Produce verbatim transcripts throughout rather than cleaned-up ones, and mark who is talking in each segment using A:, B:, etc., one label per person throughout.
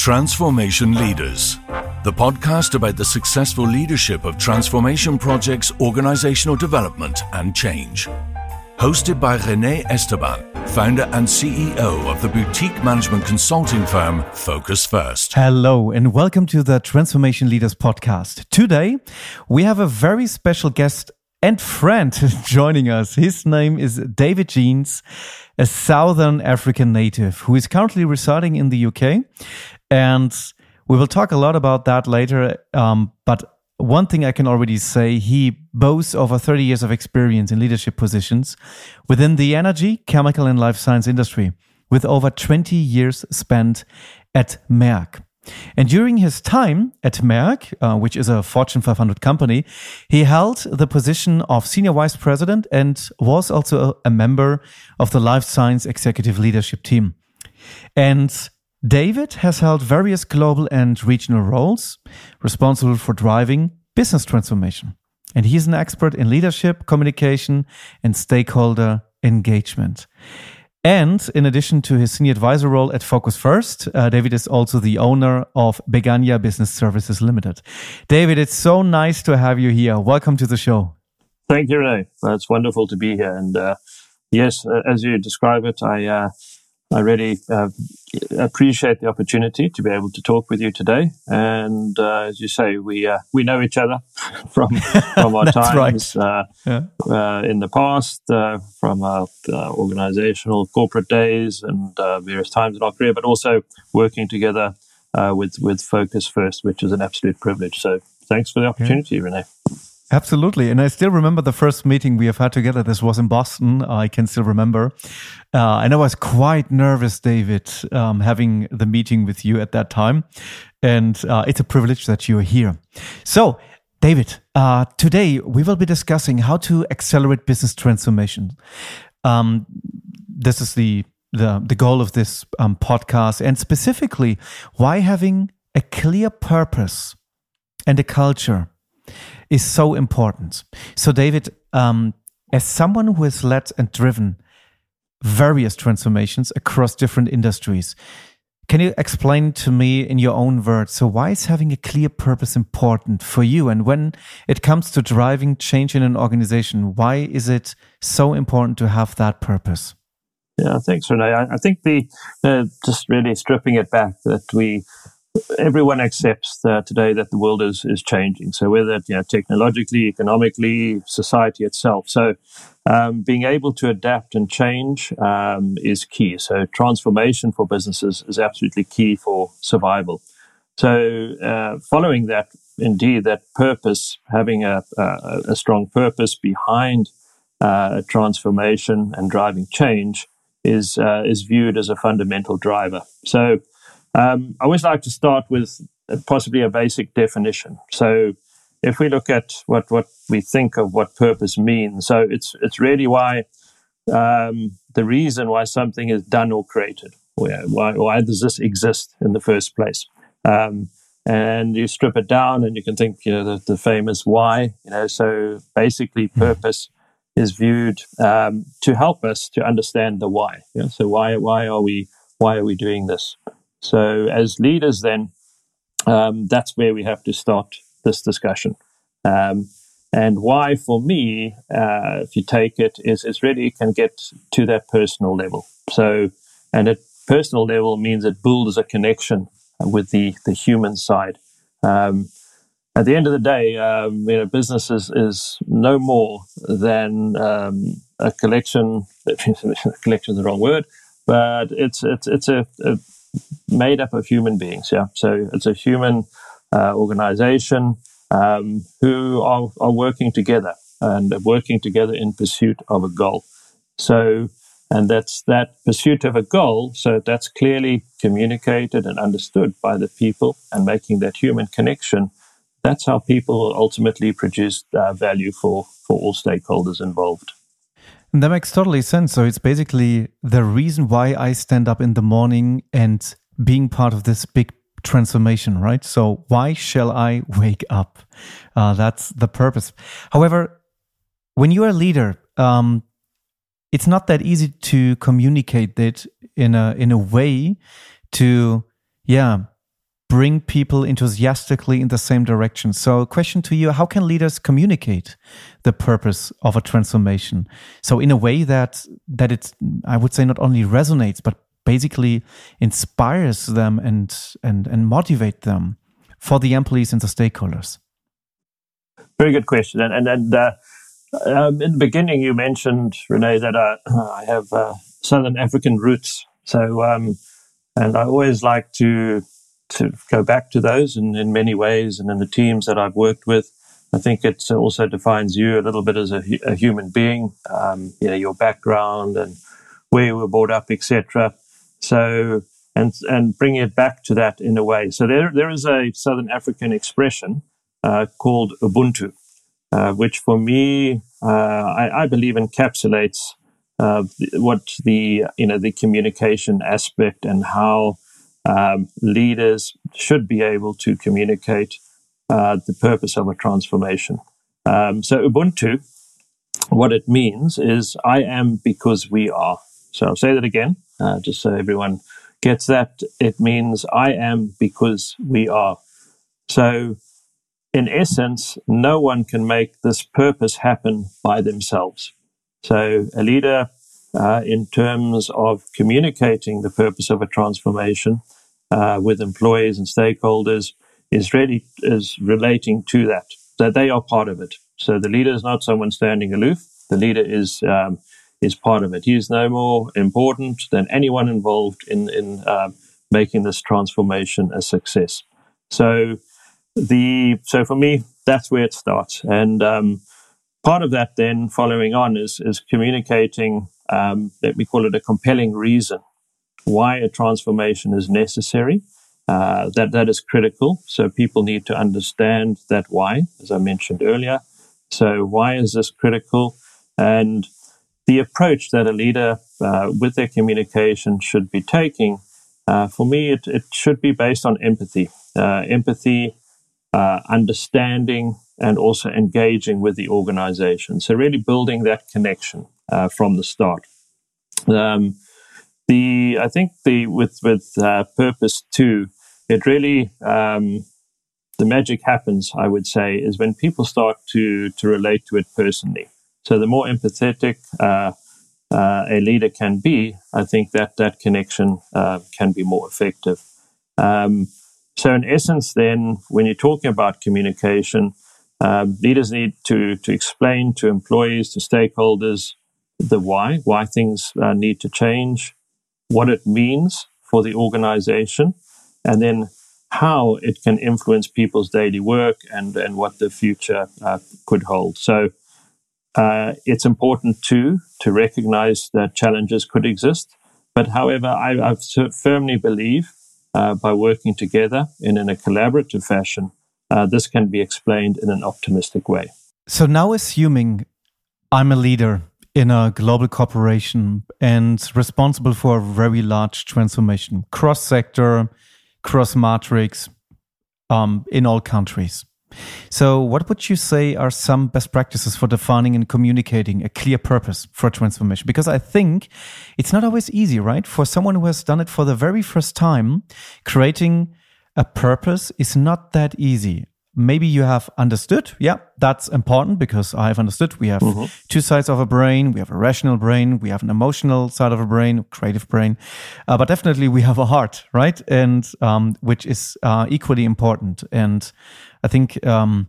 A: Transformation Leaders, the podcast about the successful leadership of transformation projects, organizational development, and change. Hosted by René Esteban, founder and C E O of the boutique management consulting firm Focus First.
B: Hello and welcome to the Transformation Leaders podcast. Today, we have a very special guest and friend joining us. His name is David Jeans, a Southern African native who is currently residing in the U K. And we will talk a lot about that later. Um, but one thing I can already say, he boasts over thirty years of experience in leadership positions within the energy, chemical, and life science industry, with over twenty years spent at Merck. And during his time at Merck, uh, which is a Fortune five hundred company, he held the position of Senior Vice President and was also a, a member of the Life Science Executive Leadership Team. And David has held various global and regional roles, responsible for driving business transformation. And he's an expert in leadership, communication, and stakeholder engagement. And in addition to his senior advisor role at Focus First, uh, David is also the owner of Begania Business Services Limited. David, it's so nice to have you here. Welcome to the show.
C: Thank you, Renee. Well, it's wonderful to be here. And uh, yes, uh, as you describe it, I uh, I really uh, appreciate the opportunity to be able to talk with you today. And uh, as you say, we uh, we know each other from from our times right. uh, yeah. uh, in the past, uh, from our uh, organizational corporate days and uh, various times in our career, but also working together uh, with with Focus First, which is an absolute privilege. So thanks for the opportunity, yeah. Renee.
B: Absolutely. And I still remember the first meeting we have had together. This was in Boston. I can still remember. Uh, and I was quite nervous, David, um, having the meeting with you at that time. And uh, it's a privilege that you're here. So, David, uh, today we will be discussing how to accelerate business transformation. Um, this is the, the, the goal of this um, podcast. And specifically, why having a clear purpose and a culture is so important. So, David, um, as someone who has led and driven various transformations across different industries, can you explain to me in your own words, so why is having a clear purpose important for you? And when it comes to driving change in an organization, why is it so important to have that purpose?
C: Yeah, thanks, Renee. I, I think the uh, just really stripping it back, that we everyone accepts uh, today that the world is is changing. So whether you know technologically, economically, society itself. So um, being able to adapt and change um, is key. So transformation for businesses is absolutely key for survival. So uh, following that, indeed, that purpose, having a a, a strong purpose behind uh, transformation and driving change is uh, is viewed as a fundamental driver. So Um, I always like to start with possibly a basic definition. So if we look at what, what we think of what purpose means, so it's it's really why um, the reason why something is done or created. Why, why does this exist in the first place? Um, and you strip it down and you can think, you know, the, the famous why, you know, so basically purpose is viewed um, to help us to understand the why. You know? So why why are we why are we doing this? So as leaders, then, um, that's where we have to start this discussion. Um, and why, for me, uh, if you take it, is, is really can get to that personal level. So, and at personal level means it builds a connection with the, the human side. Um, at the end of the day, um, you know, business is, is no more than um, a collection. Collection is the wrong word, but it's it's it's a, a made up of human beings, yeah. So it's a human uh, organization um, who are, are working together and working together in pursuit of a goal. So, and that's that pursuit of a goal. So that's clearly communicated and understood by the people, and making that human connection. That's how people will ultimately produce uh, value for for all stakeholders involved.
B: And that makes totally sense. So it's basically the reason why I stand up in the morning and being part of this big transformation, right? So why shall I wake up? Uh, that's the purpose. However, when you're a leader, um, it's not that easy to communicate it in a in a way to, yeah, bring people enthusiastically in the same direction. So question to you, how can leaders communicate the purpose of a transformation? So in a way that, that it's, I would say, not only resonates, but basically inspires them and, and, and motivate them for the employees and the stakeholders?
C: Very good question. And, and, and uh, um, in the beginning, you mentioned, Renee, that uh, I have uh, Southern African roots. So, um, and I always like to to go back to those in, in many ways, and in the teams that I've worked with. I think it also defines you a little bit as a, a human being, um, you know, your background and where you were brought up, et cetera. So, and and bring it back to that in a way. So there there is a Southern African expression uh, called Ubuntu, uh, which for me, uh, I, I believe encapsulates uh, what the you know the communication aspect and how um, leaders should be able to communicate uh, the purpose of a transformation. Um, so Ubuntu, what it means is I am because we are. So I'll say that again, uh, just so everyone gets that. It means I am because we are. So in essence, no one can make this purpose happen by themselves. So a leader, uh, in terms of communicating the purpose of a transformation uh, with employees and stakeholders, is really is relating to that, that they are part of it. So the leader is not someone standing aloof. The leader is um, is part of it. He is no more important than anyone involved in in uh, making this transformation a success. So the so for me, that's where it starts. And um, part of that then following on is is communicating, um, let me call it a compelling reason why a transformation is necessary. Uh, that that is critical. So people need to understand that why, as I mentioned earlier. So why is this critical? And the approach that a leader uh, with their communication should be taking, uh, for me, it, it should be based on empathy. Uh, empathy, uh, understanding, and also engaging with the organization. So really building that connection uh, from the start. Um, the I think the with with uh, purpose two, it really um, the magic happens, I would say, is when people start to to relate to it personally. So the more empathetic uh, uh, a leader can be, I think that that connection uh, can be more effective. Um, so in essence, then, when you're talking about communication, uh, leaders need to to explain to employees, to stakeholders, the why, why things uh, need to change, what it means for the organization, and then how it can influence people's daily work and, and what the future uh, could hold. So uh, it's important too to recognize that challenges could exist. But however, I I've firmly believe uh, by working together and in a collaborative fashion, uh, this can be explained in an optimistic way.
B: So now assuming I'm a leader in a global corporation and responsible for a very large transformation, cross-sector, cross-matrix, um, in all countries. So what would you say are some best practices for defining and communicating a clear purpose for a transformation? Because I think it's not always easy, right? For someone who has done it for the very first time, creating a purpose is not that easy. Maybe you have understood, yeah, that's important because I've understood we have mm-hmm. two sides of a brain. We have a rational brain, we have an emotional side of a brain, creative brain, uh, but definitely we have a heart, right? And um, which is uh, equally important. And I think um,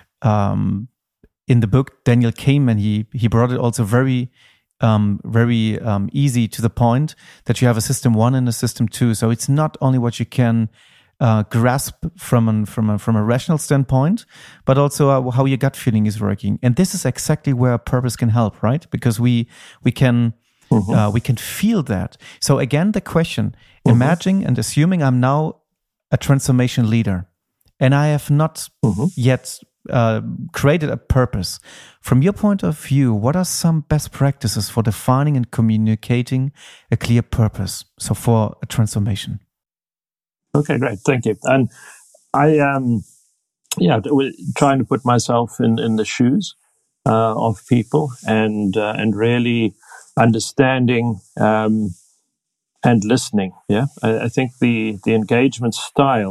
B: um, in the book, Daniel Kahneman, he he brought it also very, um, very um, easy to the point that you have a system one and a system two. So it's not only what you can Uh, grasp from an, from a, from a rational standpoint, but also uh, how your gut feeling is working. And this is exactly where purpose can help, right? Because we we can mm-hmm. uh, we can feel that. So again, the question: mm-hmm. imagine and assuming I'm now a transformation leader, and I have not mm-hmm. yet uh, created a purpose. From your point of view, what are some best practices for defining and communicating a clear purpose? So for a transformation.
C: Okay, great. Thank you. And I, um, yeah, trying to put myself in, in the shoes uh, of people and uh, and really understanding um, and listening. Yeah, I, I think the the engagement style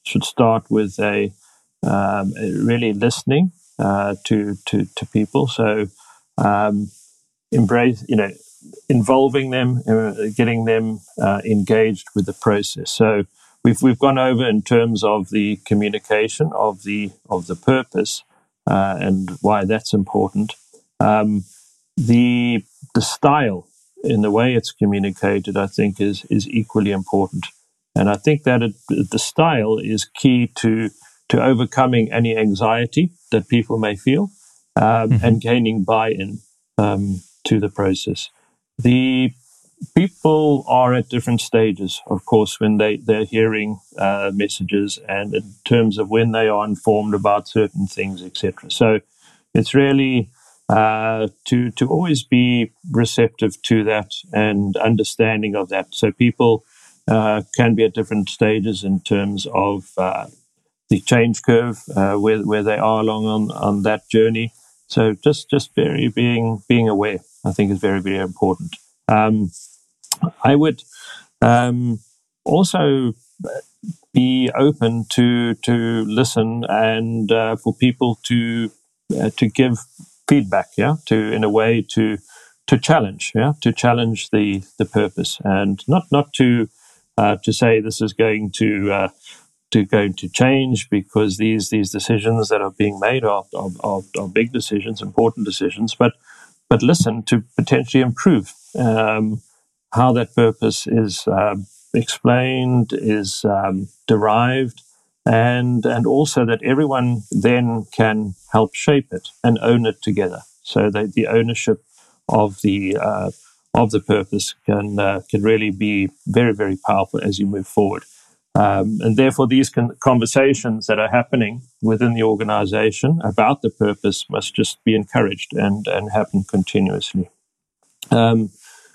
C: should start with a, um, a really listening uh, to to to people. So um, embrace, you know, involving them, uh, getting them uh, engaged with the process. So we've we've gone over in terms of the communication of the of the purpose uh, and why that's important. Um, the the style in the way it's communicated, I think, is is equally important. And I think that it, the style is key to to overcoming any anxiety that people may feel um, mm-hmm. and gaining buy-in um, to the process. The people are at different stages, of course, when they, they're hearing uh, messages and in terms of when they are informed about certain things, et cetera. So it's really uh, to to always be receptive to that and understanding of that. So people uh, can be at different stages in terms of uh, the change curve, uh, where where they are along on, on that journey. So just just very being being aware, I think, is very, very important. Um, I would um, also be open to to listen and uh, for people to uh, to give feedback, yeah, to in a way to to challenge, yeah, to challenge the the purpose, and not not to uh, to say this is going to uh, to going to change because these these decisions that are being made are are, are, are big decisions, important decisions, but but listen to potentially improve um, how that purpose is um, explained, is um, derived, and and also that everyone then can help shape it and own it together. So that the ownership of the uh, of the purpose can uh, can really be very, very powerful as you move forward. Um, and therefore, these con- conversations that are happening within the organization about the purpose must just be encouraged and, and happen continuously. Um,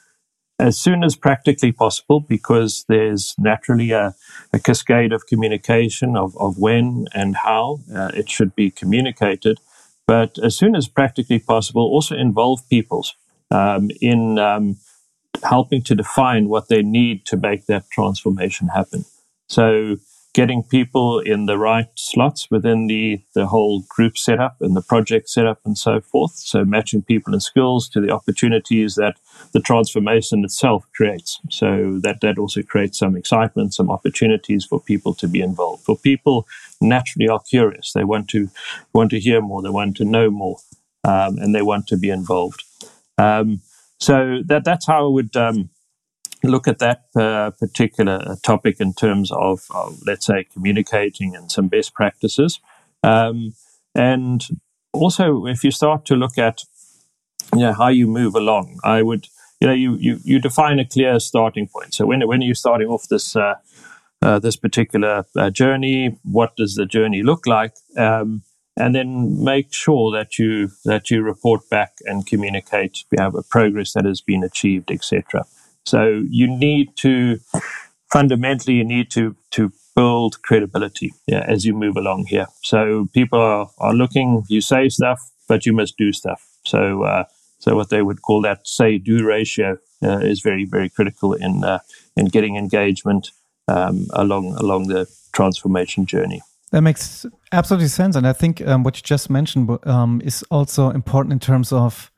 C: as soon as practically possible, because there's naturally a, a cascade of communication of, of when and how uh, it should be communicated. But as soon as practically possible, also involve peoples um, in um, helping to define what they need to make that transformation happen. So getting people in the right slots within the, the whole group setup and the project setup and so forth. So matching people and skills to the opportunities that the transformation itself creates. So that, that also creates some excitement, some opportunities for people to be involved. For people naturally are curious. They want to want to hear more. They want to know more, um, and they want to be involved. Um, so that that's how I would um, look at that uh, particular topic in terms of, of, let's say, communicating and some best practices. Um, and also, if you start to look at, you know, how you move along, I would, you know, you you, you define a clear starting point. So when when you're starting off this uh, uh, this particular uh, journey, what does the journey look like? Um, and then make sure that you that you report back and communicate, you have a progress that has been achieved, et cetera. So you need to, fundamentally, you need to to build credibility, yeah, as you move along here. So people are, are looking, you say stuff, but you must do stuff. So uh, so what they would call that say-do ratio uh, is very, very critical in uh, in getting engagement um, along along the transformation journey.
B: That makes absolutely sense. And I think um, what you just mentioned um, is also important in terms of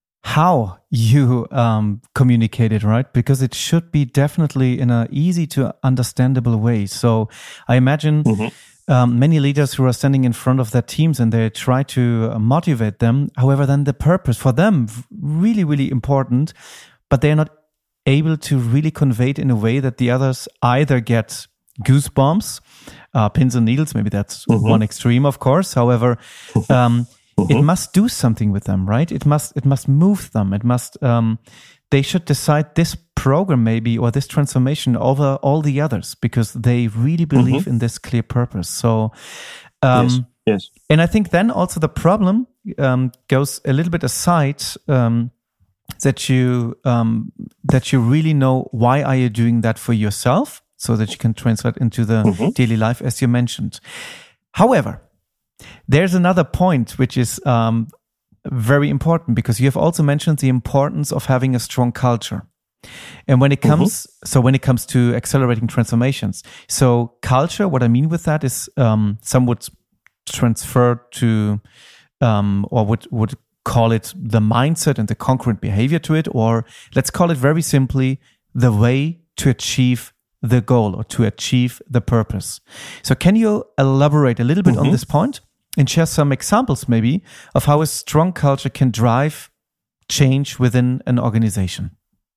B: how you um, communicate it, right? Because it should be definitely in an easy to understandable way. So I imagine mm-hmm. um, many leaders who are standing in front of their teams and they try to motivate them. However, then the purpose for them, really, really important, but they're not able to really convey it in a way that the others either get goosebumps, uh, pins and needles. Maybe that's mm-hmm. one extreme, of course. However, um, Mm-hmm. it must do something with them, right? It must it must move them. It must um, they should decide this program maybe or this transformation over all the others because they really believe mm-hmm. in this clear purpose. So um,
C: yes, yes.
B: And I think then also the problem um, goes a little bit aside um, that you um, that you really know why are you doing that for yourself so that you can translate into the mm-hmm. daily life as you mentioned. However, there's another point which is um, very important because you have also mentioned the importance of having a strong culture. And when it comes, mm-hmm. so when it comes to accelerating transformations, so culture, what I mean with that is um, some would transfer to, um, or would, would call it the mindset and the concurrent behavior to it, or let's call it very simply the way to achieve the goal or to achieve the purpose. So can you elaborate a little bit mm-hmm. on this point and share some examples maybe of how a strong culture can drive change within an organization?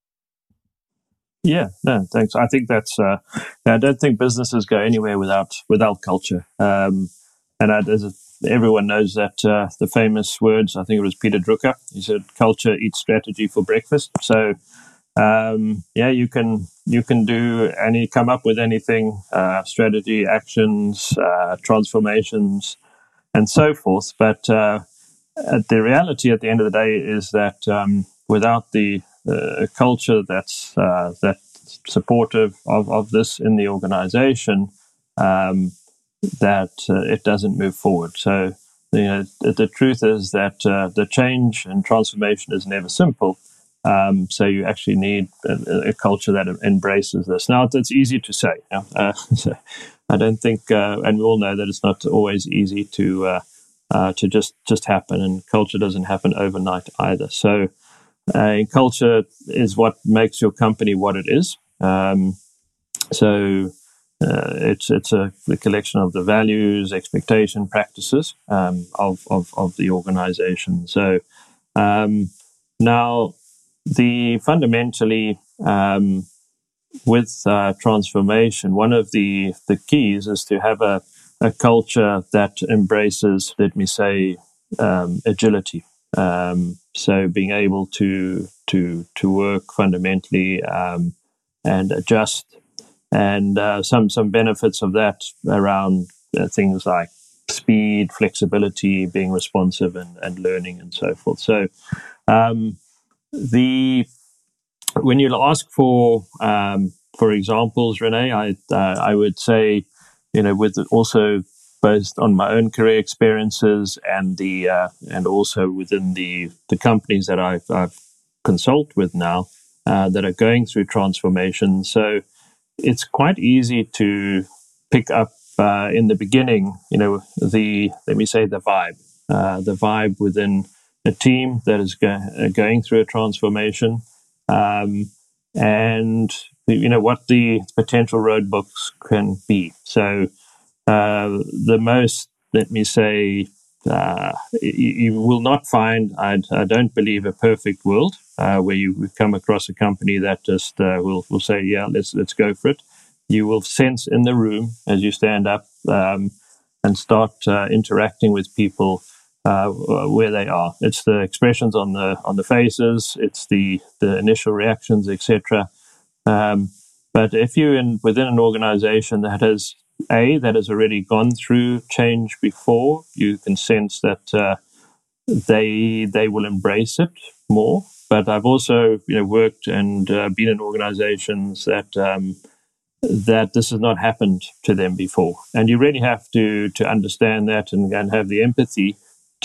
C: Yeah, no, thanks. I think that's, uh, I don't think businesses go anywhere without without culture. Um, and I, as everyone knows that uh, the famous words, I think it was Peter Drucker, he said, culture eats strategy for breakfast. So, um, yeah, you can you can do any, come up with anything, uh, strategy, actions, uh, transformations, and so forth. But uh, the reality at the end of the day is that um, without the a culture that's uh, that's supportive of, of this in the organization, um, that uh, it doesn't move forward. So, you know, the, the truth is that uh, the change and transformation is never simple. Um, so you actually need a, a culture that embraces this. Now, it's easy to say. You know? uh, so I don't think, uh, and we all know that it's not always easy to uh, uh, to just just happen, and culture doesn't happen overnight either. So. Uh, culture is what makes your company what it is. Um, so uh, it's it's a the collection of the values, expectation, practices um, of, of of the organization. So um, now the fundamentally um, with uh, transformation, one of the the keys is to have a a culture that embraces, let me say, um, agility. Um, so being able to to to work fundamentally um, and adjust, and uh, some some benefits of that around uh, things like speed, flexibility, being responsive, and, and learning, and so forth. So um, the when you ask for um, for examples, Renee, I uh, I would say, you know, with also. Based on my own career experiences and the uh, and also within the the companies that I've, I've consult with now uh, that are going through transformation. So it's quite easy to pick up uh, in the beginning, you know, the let me say the vibe, uh, the vibe within a team that is go- going through a transformation, um, and you know what the potential roadblocks can be. So. Uh, the most, let me say, uh, you, you will not find, I, I don't believe, a perfect world uh, where you come across a company that just uh, will will say, yeah, let's let's go for it. You will sense in the room as you stand up um, and start uh, interacting with people uh, where they are. It's the expressions on the on the faces, it's the the initial reactions, et cetera. Um, but if you're in within an organization that has A, that has already gone through change before, you can sense that uh, they they will embrace it more. But I've also, you know, worked and uh, been in organizations that um, that this has not happened to them before, and you really have to to understand that and, and have the empathy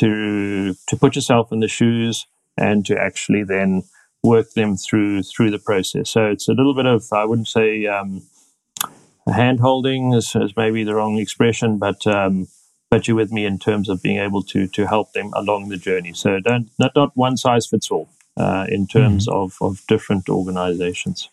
C: to to put yourself in the shoes and to actually then work them through through the process. So it's a little bit of, I wouldn't say. Um, Hand-holding is, is maybe the wrong expression, but um, but you're with me in terms of being able to to help them along the journey. So don't not not one size fits all uh, in terms mm-hmm. of of different organizations.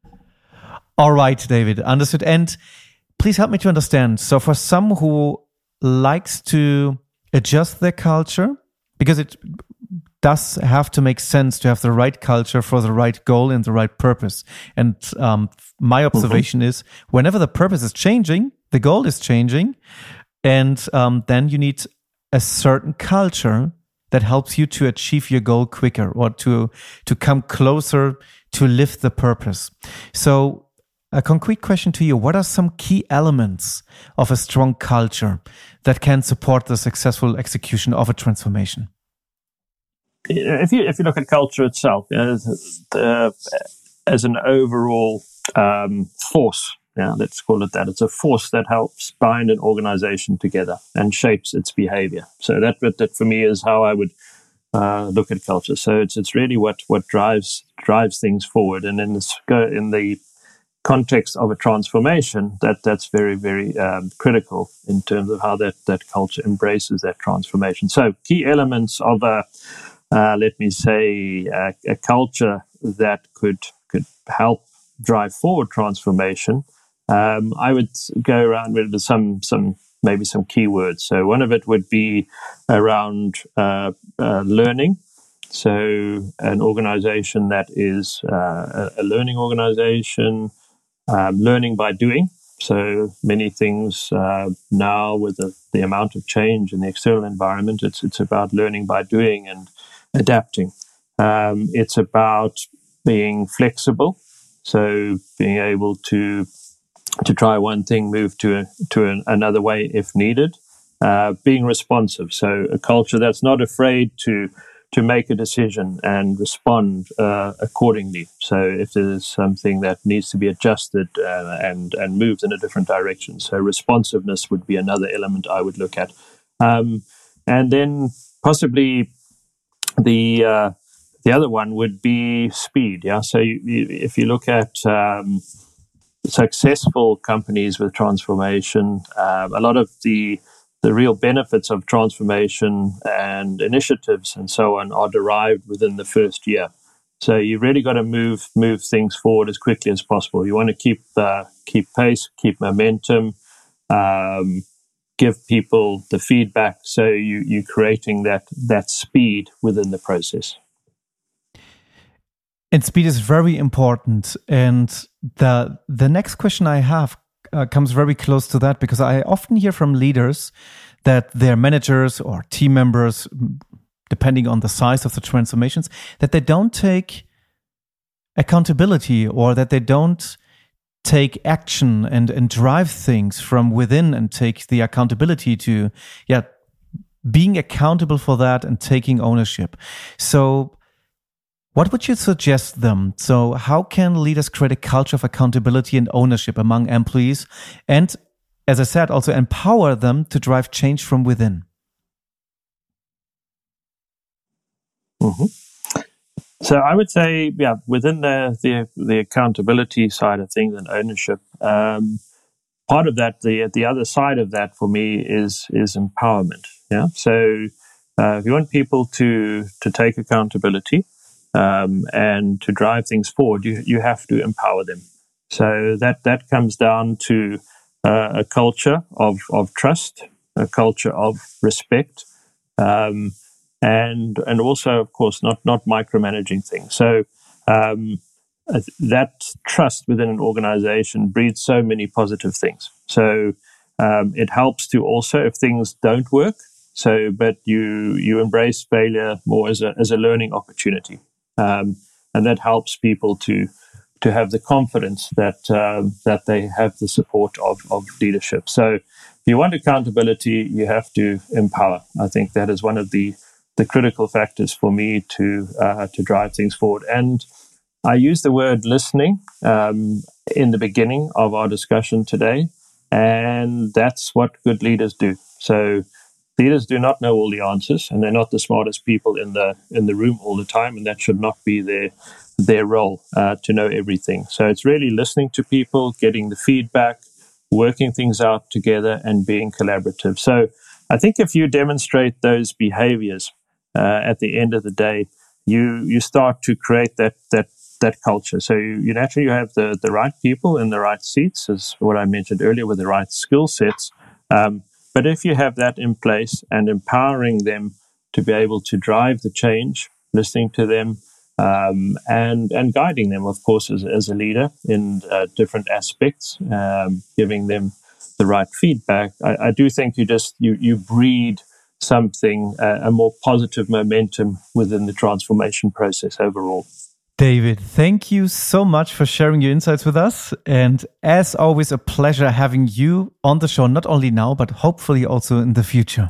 B: All right, David, understood. And please help me to understand. So for some who likes to adjust their culture, because it does have to make sense to have the right culture for the right goal and the right purpose. And um, my observation mm-hmm. is whenever the purpose is changing, the goal is changing, and um, then you need a certain culture that helps you to achieve your goal quicker or to to come closer to live the purpose. So a concrete question to you, what are some key elements of a strong culture that can support the successful execution of a transformation?
C: If you if you look at culture itself, you know, the, as an overall um, force, yeah, let's call it that. It's a force that helps bind an organization together and shapes its behavior. So that that for me is how I would uh, look at culture. So it's it's really what what drives drives things forward. And in this, in the context of a transformation, that that's very very um, critical in terms of how that that culture embraces that transformation. So key elements of a uh, let me say a, a culture that could could help drive forward transformation. Um, I would go around with some some maybe some keywords. So one of it would be around uh, uh, learning. So an organization that is uh, a learning organization, um, learning by doing. So many things uh, now with the, the amount of change in the external environment, it's it's about learning by doing and adapting. Um, it's about being flexible. So being able to to try one thing, move to a, to an, another way if needed. Uh, being responsive, so a culture that's not afraid to to make a decision and respond uh, accordingly. So if there's something that needs to be adjusted uh, and and moved in a different direction, so responsiveness would be another element I would look at, um, and then possibly the uh, the other one would be speed. Yeah, so you, you, if you look at um, successful companies with transformation, um, a lot of the the real benefits of transformation and initiatives and so on are derived within the first year. So you really got to move move things forward as quickly as possible. You want to keep uh, keep pace, keep momentum, um, give people the feedback. So you you're creating that that speed within the process.
B: And speed is very important. And the the next question I have uh, comes very close to that, because I often hear from leaders that their managers or team members, depending on the size of the transformations, that they don't take accountability, or that they don't take action and, and drive things from within and take the accountability to, yeah, being accountable for that and taking ownership. So what would you suggest them? So how can leaders create a culture of accountability and ownership among employees, and, as I said, also empower them to drive change from within?
C: Mm-hmm. So I would say, yeah, within the, the the accountability side of things and ownership, um, part of that, the the other side of that for me is is empowerment. Yeah. So uh, if you want people to to take accountability um, and to drive things forward, you you have to empower them. So that that comes down to uh, a culture of of trust, a culture of respect. Um, And and also, of course, not not micromanaging things. So um, that trust within an organization breeds so many positive things. So um, it helps to also, if things don't work, so but you you embrace failure more as a as a learning opportunity, um, and that helps people to to have the confidence that um, that they have the support of of leadership. So if you want accountability, you have to empower. I think that is one of the the critical factors for me to uh, to drive things forward. And I use the word listening um, in the beginning of our discussion today, and that's what good leaders do. So leaders do not know all the answers, and they're not the smartest people in the in the room all the time, and that should not be their their role uh, to know everything. So it's really listening to people, getting the feedback, working things out together, and being collaborative. So I think if you demonstrate those behaviors, Uh, at the end of the day, you you start to create that that that culture. So you, you naturally you have the, the right people in the right seats, as what I mentioned earlier, with the right skill sets. Um, but if you have that in place and empowering them to be able to drive the change, listening to them, um, and and guiding them, of course, as as a leader in uh, different aspects, um, giving them the right feedback, I, I do think you just you you breed something, uh, a more positive momentum within the transformation process overall.
B: David, thank you so much for sharing your insights with us. And as always, a pleasure having you on the show, not only now, but hopefully also in the future.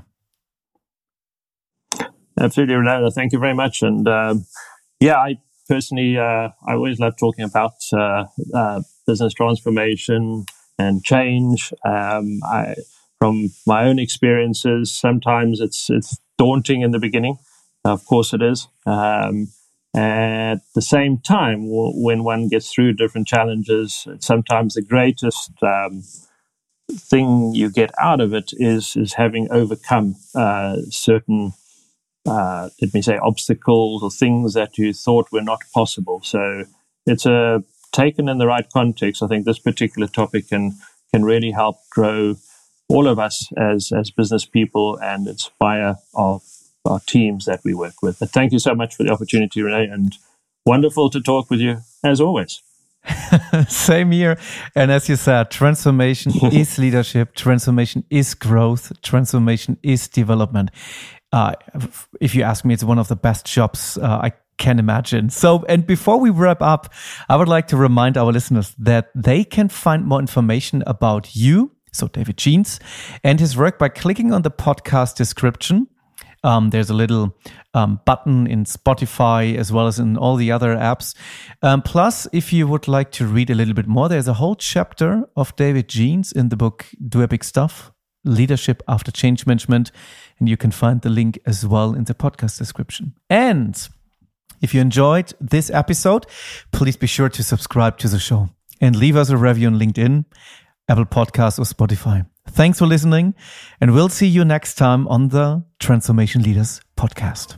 C: Absolutely, Ronaldo. Thank you very much. And um, yeah, I personally, uh, I always love talking about uh, uh, business transformation and change. Um, I From my own experiences, sometimes it's it's daunting in the beginning, Of course it is. Um, at the same time, w- when one gets through different challenges, sometimes the greatest um, thing you get out of it is is having overcome uh, certain, uh, let me say, obstacles or things that you thought were not possible. So it's a taken in the right context. I think this particular topic can can really help grow all of us as as business people and inspire our our teams that we work with. But thank you so much for the opportunity, Renee, and wonderful to talk with you as always.
B: Same here. And as you said, transformation is leadership. Transformation is growth. Transformation is development. Uh, if you ask me, it's one of the best jobs uh, I can imagine. So, and before we wrap up, I would like to remind our listeners that they can find more information about you, so David Jeans, and his work by clicking on the podcast description. Um, there's a little um, button in Spotify as well as in all the other apps. Um, plus, if you would like to read a little bit more, there's a whole chapter of David Jeans in the book Do Epic Stuff, Leadership After Change Management. And you can find the link as well in the podcast description. And if you enjoyed this episode, please be sure to subscribe to the show and leave us a review on LinkedIn, Apple Podcasts, or Spotify. Thanks for listening, and we'll see you next time on the Transformation Leaders podcast.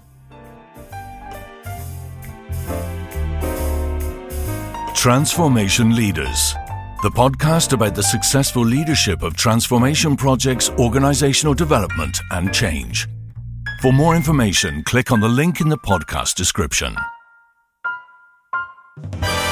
A: Transformation Leaders, the podcast about the successful leadership of transformation projects, organizational development, and change. For more information, click on the link in the podcast description.